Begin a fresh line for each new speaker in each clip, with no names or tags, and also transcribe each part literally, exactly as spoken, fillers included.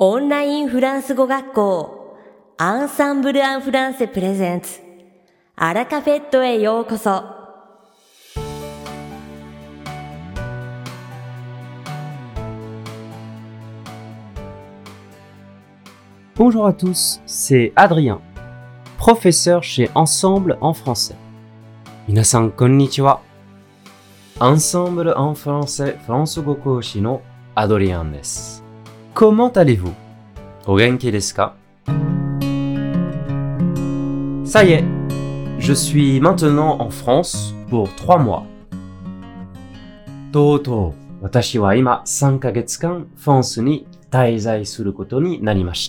オンラインフランス語学校アンサンブル・アン・フランセプレゼンツアラカフェットへようこそ。
Bonjour à tous, c'est Adrien, professeur chez Ensemble en français. Minasan konnichiwa. Ensemble en français フランス語講師の Adrien です。Comment allez-vous? お元気ですか? Ça y est, je suis maintenant en France pour trois mois. とうとう私は今さんかげつかんフランスに滞在することになりました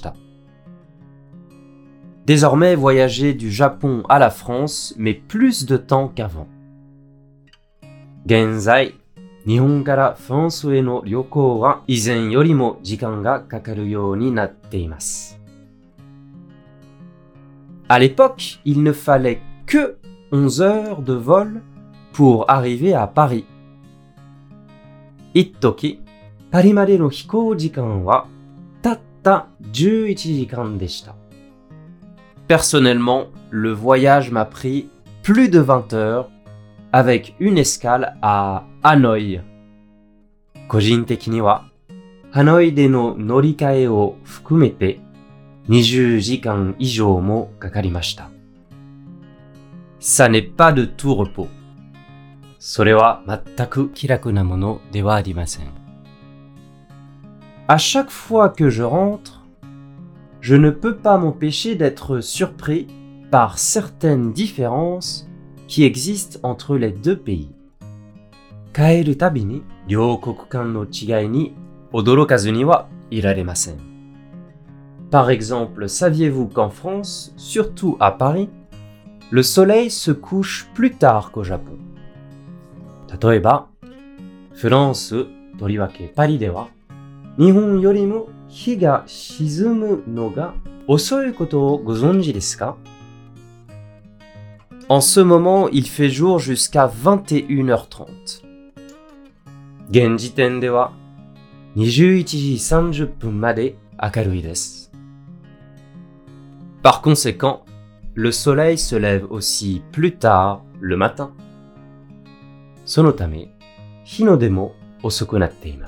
。Désormais, voyager du Japon à la France met plus de temps qu'avant. 現在、日本からフランスへの旅行は以前よりも時間がかかるようになっています。À l'époque, il ne fallait que onze heures de vol pour arriver à Paris. 一時、パリまでの飛行時間はたったじゅういちじかんでした。Personnellement, le voyage m'a pris plus de vingt heures avec une escale à Hanoï. 個人的には、ハノイでの乗り換えを含めてにじゅうじかん以上もかかりました。Ça n'est pas de tout repos. それは全く気楽なものではありません。À chaque fois que je rentre, je ne peux pas m'empêcher d'être surpris par certaines différences qui existent entre les deux pays. 帰るたびに両国間の違いに驚かずにはいられません。Par exemple, saviez-vous qu'en France, surtout à Paris, le soleil se couche plus tard qu'au Japon? 例えば、フランス、とりわけパリでは、日本よりも日が沈むのが遅いことをご存知ですか? En ce moment, il fait jour jusqu'à vingt et une heures trente. 現時点ではにじゅういちじさんじゅっぷんまで明るいです。Par conséquent, le soleil se lève aussi plus tard le matin. そのため、日の出も遅くなっています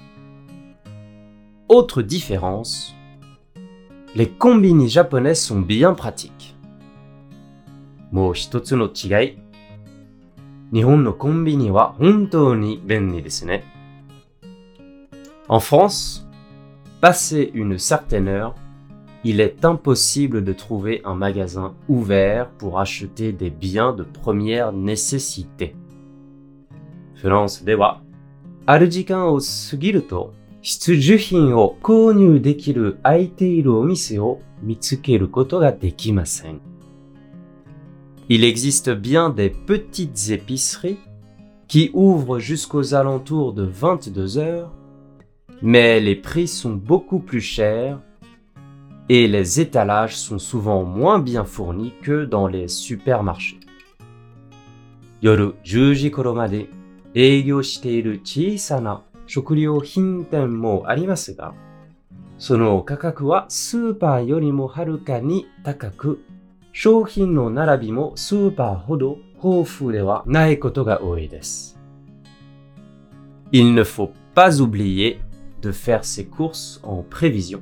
。Autre différence, les combini japonais sont bien pratiques. もう一つの違い、日本のコンビニは本当に便利ですね。En France, passé une certaine heure, il est impossible de trouver un magasin ouvert pour acheter des biens de première nécessité. フランスでは、ある時間を過ぎると、必需品を購入できる空いているお店を見つけることができません。Il existe bien des petites épiceries qui ouvrent jusqu'aux alentours de vingt-deux heures, mais les prix sont beaucoup plus chers et les étalages sont souvent moins bien fournis que dans les supermarchés. 夜じゅうじ頃まで営業している小さな食料品店もありますが、その価格はスーパーよりもはるかに高く、商品の並びもスーパーほど豊富ではないことが多いです。Il ne faut pas oublier de faire ses courses en prévision.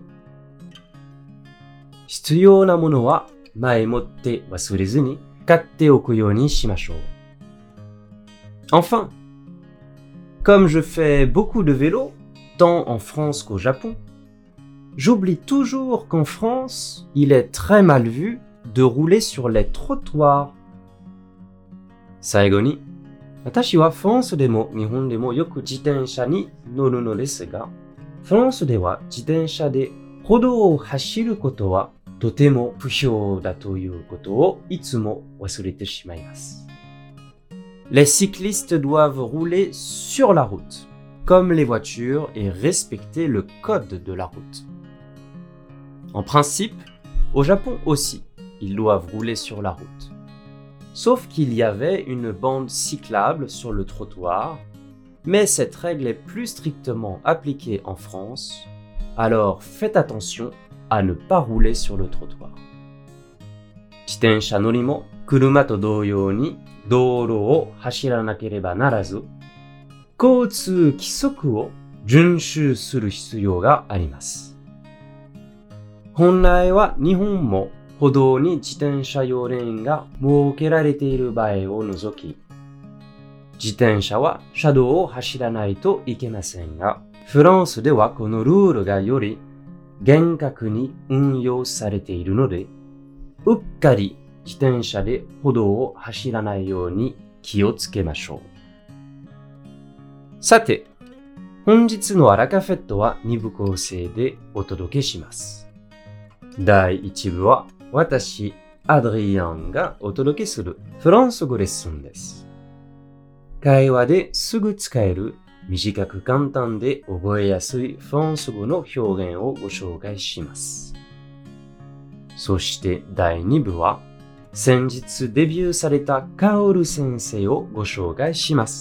必要なものは前もって忘れずに買っておくようにしましょう。Enfin, comme je fais beaucoup de vélo, tant en France qu'au Japon, j'oublie toujours qu'en France, il est très mal vu de rouler sur les trottoirs. 最後に、私はフランスでも日本でもよく自転車に乗るのですが、フランスでは自転車で歩道を走ることはとても不評だということをいつも忘れてしまいます。Les cyclistes doivent rouler sur la route, comme les voitures, et respecter le code de la route. En principe, au Japon aussi, ils doivent rouler sur la route. Sauf qu'il y avait une bande cyclable sur le trottoir, mais cette règle est plus strictement appliquée en France, alors faites attention à ne pas rouler sur le trottoir. 自転車乗りも車と同様に道路を走らなければならず、交通規則を遵守する必要があります。本来は日本も歩道に自転車用レーンが設けられている場合を除き、自転車は車道を走らないといけませんが、フランスではこのルールがより厳格に運用されているので、うっかり自転車で歩道を走らないように気をつけましょう。さて、本日のアラカフェットはに部構成でお届けします。だいいち部は私、アドリアンがお届けするフランス語レッスンです。会話ですぐ使える短く簡単で覚えやすいフランス語の表現をご紹介します。そしてだいに部は先日デビューされたカオル先生をご紹介します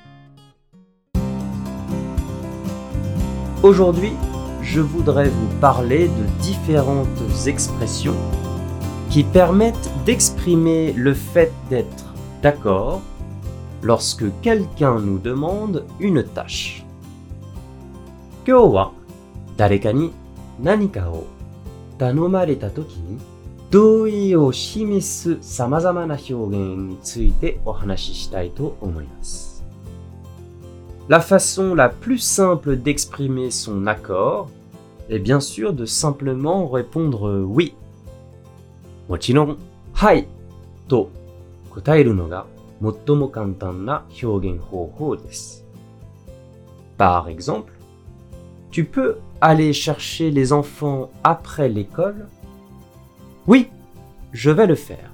。Aujourd'hui, je voudrais vous parler de différentes expressions qui permettent d'exprimer le fait d'être d'accord lorsque quelqu'un nous demande une tâche. 今日は誰かに何かを頼まれたときに同意を示す様々な表現についてお話ししたいと思います。La façon la plus simple d'exprimer son accord est bien sûr de simplement répondre oui. もちろん、はいと答えるのが最も簡単な表現方法です。Par exemple, tu peux aller chercher les enfants après l'école? Oui, je vais le faire.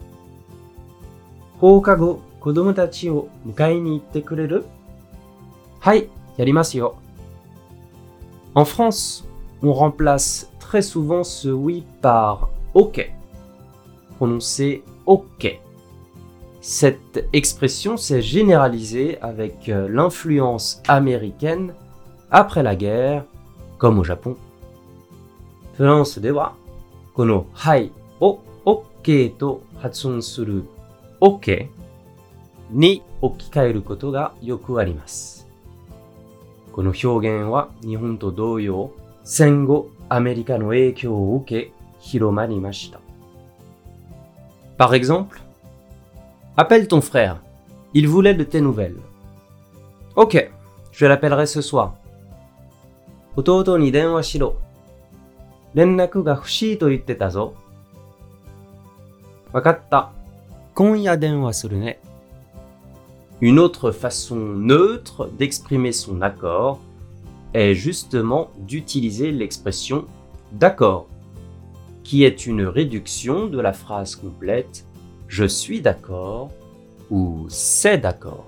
放課後、子供たちを迎えに行ってくれる？はい、やりますよ。En France, on remplace très souvent ce oui par OK, prononcé OK. Cette expression s'est généralisée avec l'influence américaine après la guerre, comme au Japon. フランスでは、このはいを OK と発音する OK に置き換えることがよくあります。この表現は日本と同様、戦後アメリカの影響を受け広まりました。Par exemple, appelle ton frère. Il voulait de tes nouvelles. Ok, je l'appellerai ce soir. 弟に電話しろ。連絡が欲しいと言ってたぞ。わかった。今夜電話するね。Une autre façon neutre d'exprimer son accord est justement d'utiliser l'expression d'accord, qui est une réduction de la phrase complète je suis d'accord ou c'est d'accord.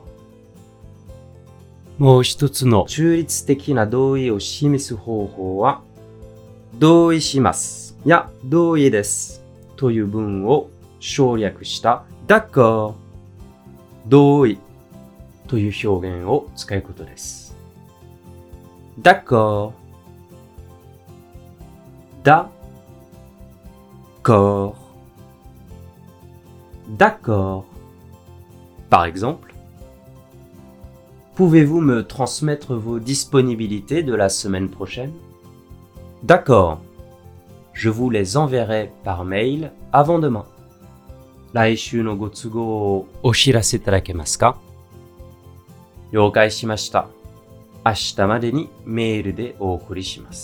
もう一つの中立的な同意を示す方法は、同意しますや同意ですという文を省略した d'accord 同意という表現を使うことです。d'accord, d'accord, d'accord. Par exemple, pouvez-vous me transmettre vos disponibilités de la semaine prochaine? D'accord, je vous les enverrai par mail avant demain. 来週のご都合をお知らせいただけますか？了解しました。明日までにメールでお送りします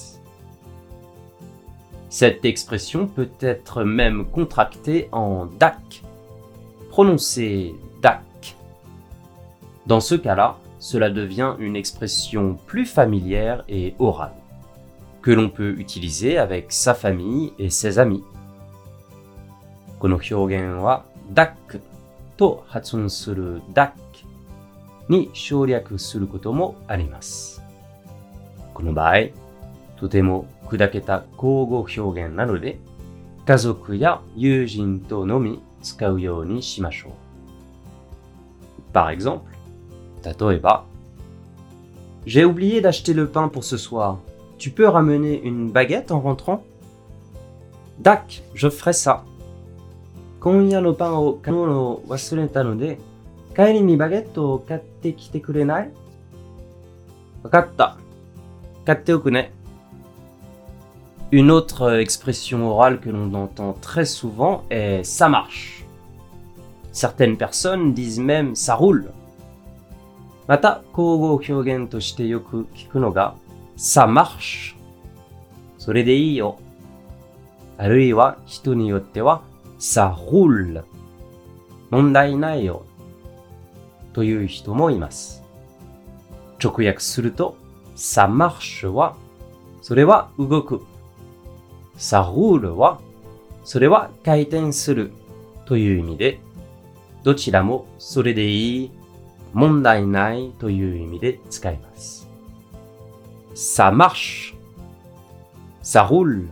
。Cette expression peut être même contractée en dac, prononcée dac. Dans ce cas-là, cela devient une expression plus familière et orale, que l'on peut utiliser avec sa famille et ses amis. この表現は dac と発音する dac に省略することもあります。この場合、とても砕けた口語表現なので、家族や友人とのみ使うようにしましょう。Par exemple, 例えば、J'ai oublié d'acheter le pain pour ce soir. tu peux ramener une baguette en rentrant? Dak, je ferai ça. 今夜のパンを買うのを忘れたので、帰りにバゲットを買ってきてくれない？わかった。買っておくね。Une autre expression orale que l'on entend très souvent est ça marche. Certaines personnes disent même ça roule. また、口語表現としてよく聞くのがça marche。それでいいよ。あるいは人によってはça roule。問題ないよ。という人もいます。直訳するとça marcheはそれは動く。ça rouleはそれは回転するという意味で、どちらもそれでいい、問題ないという意味で使います。ça marche, ça roule,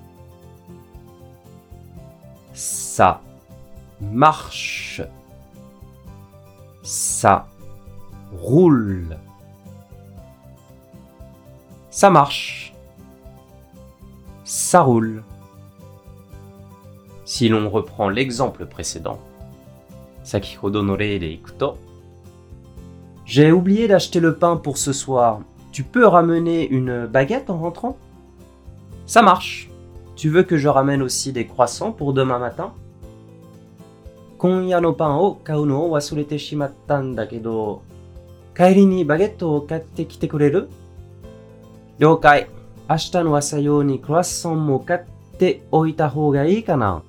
ça marche, ça roule, ça marche, ça roule. Si l'on reprend l'exemple précédent, Sakihodo no rei de iku to, j'ai oublié d'acheter le pain pour ce soir. Tu peux ramener une baguette en rentrant? Ça marche. Tu veux que je ramène aussi des croissants pour demain matin? 今夜のパンを買うのを忘れてしまったんだけど、帰りにバゲットを買ってきてくれる？了解。明日の朝用にクロワッサンも買っておいた方がいいかな？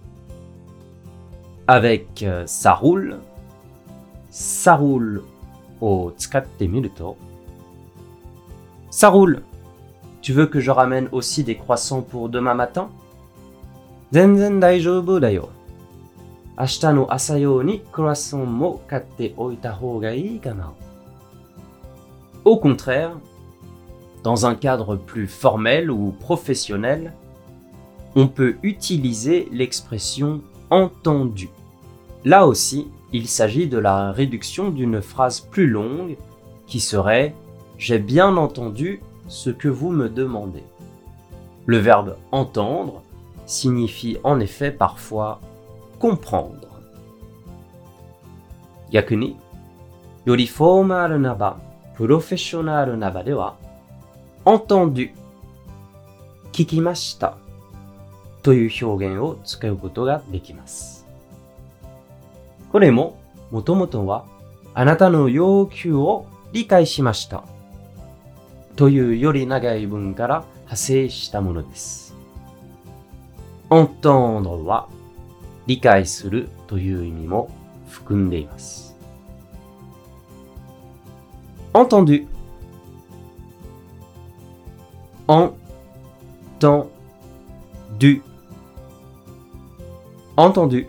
Avec euh, ça roule, ça roule を使ってみると、ça roule. Tu veux que je ramène aussi des croissants pour demain matin? 全然大丈夫だよ。明日の朝用にクロワッサンも買っておいた方がいいかな？ Au contraire, dans un cadre plus formel ou professionnel, on peut utiliser l'expression entendu. Là aussi, il s'agit de la réduction d'une phrase plus longue qui serait « J'ai bien entendu ce que vous me demandez ». Le verbe « entendre » signifie en effet parfois « comprendre ». Yakuni, yori formal naba, professional naba de wa, entendu, kikimashita という表現を使うことができます。これも、もともとは、あなたの要求を理解しました。というより長い文から派生したものです。entendre は、理解するという意味も含んでいます。entendu, entendu, entendu.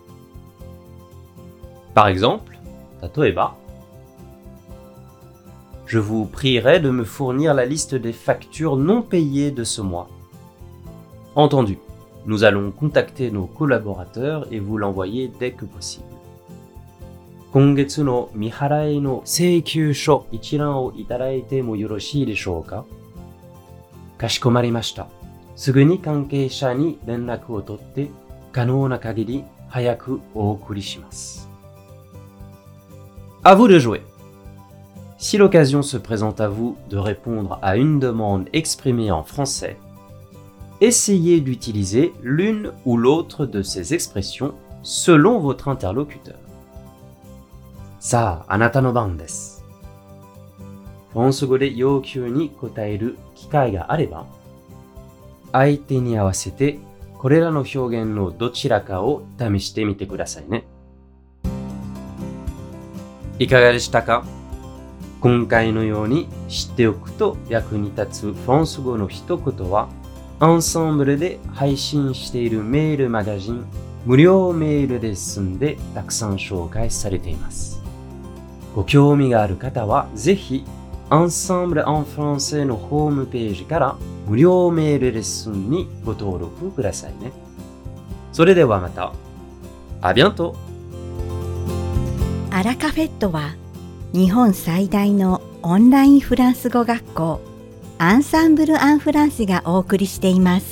Par exemple, Tatoeba, je vous prierai de me fournir la liste des factures non payées de ce mois. Entendu, nous allons contacter nos collaborateurs et vous l'envoyer dès que possible. 今月の未払いの請求書一覧をいただいてもよろしいでしょうか？かしこまりました。すぐに関係者に連絡を取って可能な限り早くお送りします。À vous de jouer. Si l'occasion se présente à vous de répondre à une demande exprimée en français, essayez d'utiliser l'une ou l'autre de ces expressions selon votre interlocuteur. さあ、あなたの番です。フランス語で要求に答える機会があれば、相手に合わせてこれらの表現のどちらかを試してみてくださいね。いかがでしたか？今回のように知っておくと役に立つフランス語の一言は、アンサンブルで配信しているメールマガジン、無料メールレッスンでたくさん紹介されています。ご興味がある方はぜひ、Ensemble en français のホームページから無料メールレッスンにご登録くださいね。それではまた。À bientôt!
アラカフェットは日本最大のオンラインフランス語学校アンサンブル・アン・フランセがお送りしています。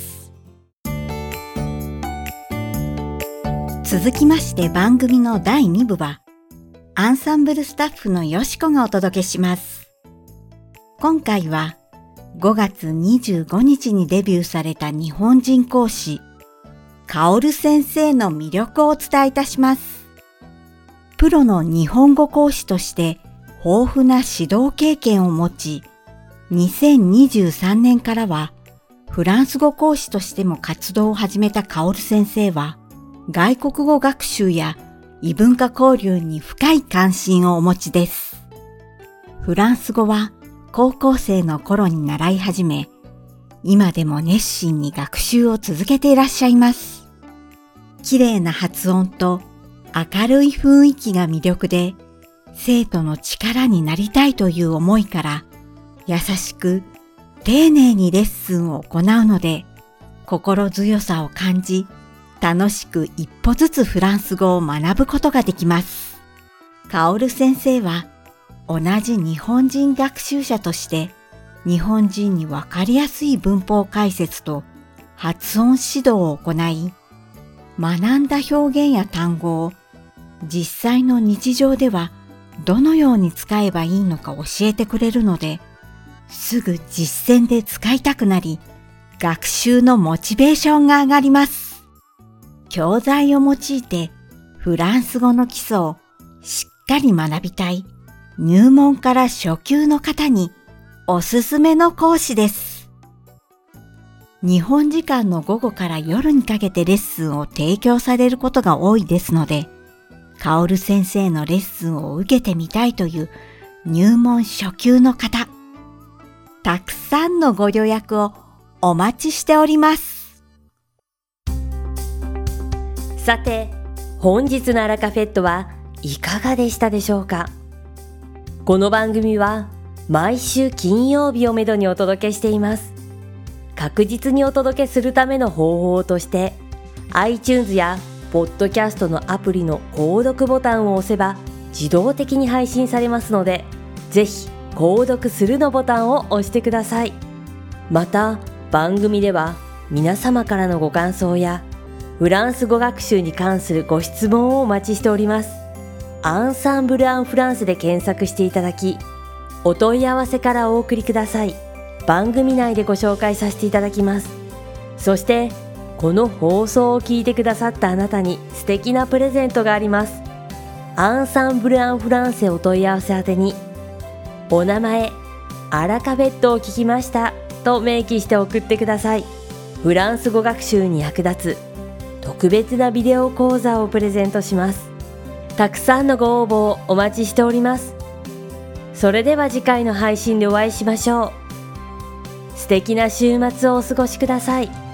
続きまして番組のだいに部は、アンサンブルスタッフのよしこがお届けします。今回はごがつにじゅうごにちにデビューされた日本人講師、カオル先生の魅力をお伝えいたします。プロの日本語講師として豊富な指導経験を持ち、にせんにじゅうさんねんからはフランス語講師としても活動を始めたカオル先生は、外国語学習や異文化交流に深い関心をお持ちです。フランス語は高校生の頃に習い始め、今でも熱心に学習を続けていらっしゃいます。綺麗な発音と明るい雰囲気が魅力で、生徒の力になりたいという思いから、優しく丁寧にレッスンを行うので、心強さを感じ、楽しく一歩ずつフランス語を学ぶことができます。カオル先生は同じ日本人学習者として、日本人にわかりやすい文法解説と発音指導を行い、学んだ表現や単語を実際の日常ではどのように使えばいいのか教えてくれるので、すぐ実践で使いたくなり、学習のモチベーションが上がります。教材を用いてフランス語の基礎をしっかり学びたい入門から初級の方におすすめの講師です。日本時間の午後から夜にかけてレッスンを提供されることが多いですので、カオル先生のレッスンを受けてみたいという入門初級の方、たくさんのご予約をお待ちしております。
さて、本日のアラカフェットはいかがでしたでしょうか。この番組は毎週金曜日をめどにお届けしています。確実にお届けするための方法として、iTunes やポッドキャストのアプリの購読ボタンを押せば自動的に配信されますので、ぜひ購読するのボタンを押してください。また、番組では皆様からのご感想やフランス語学習に関するご質問をお待ちしております。アンサンブル・アン・フランスで検索していただき、お問い合わせからお送りください。番組内でご紹介させていただきます。そして、この放送を聞いてくださったあなたに素敵なプレゼントがあります。アンサンブル・アン・フランセお問い合わせ宛てに、お名前、アラカフェットを聞きましたと明記して送ってください。フランス語学習に役立つ特別なビデオ講座をプレゼントします。たくさんのご応募をお待ちしております。それでは次回の配信でお会いしましょう。素敵な週末をお過ごしください。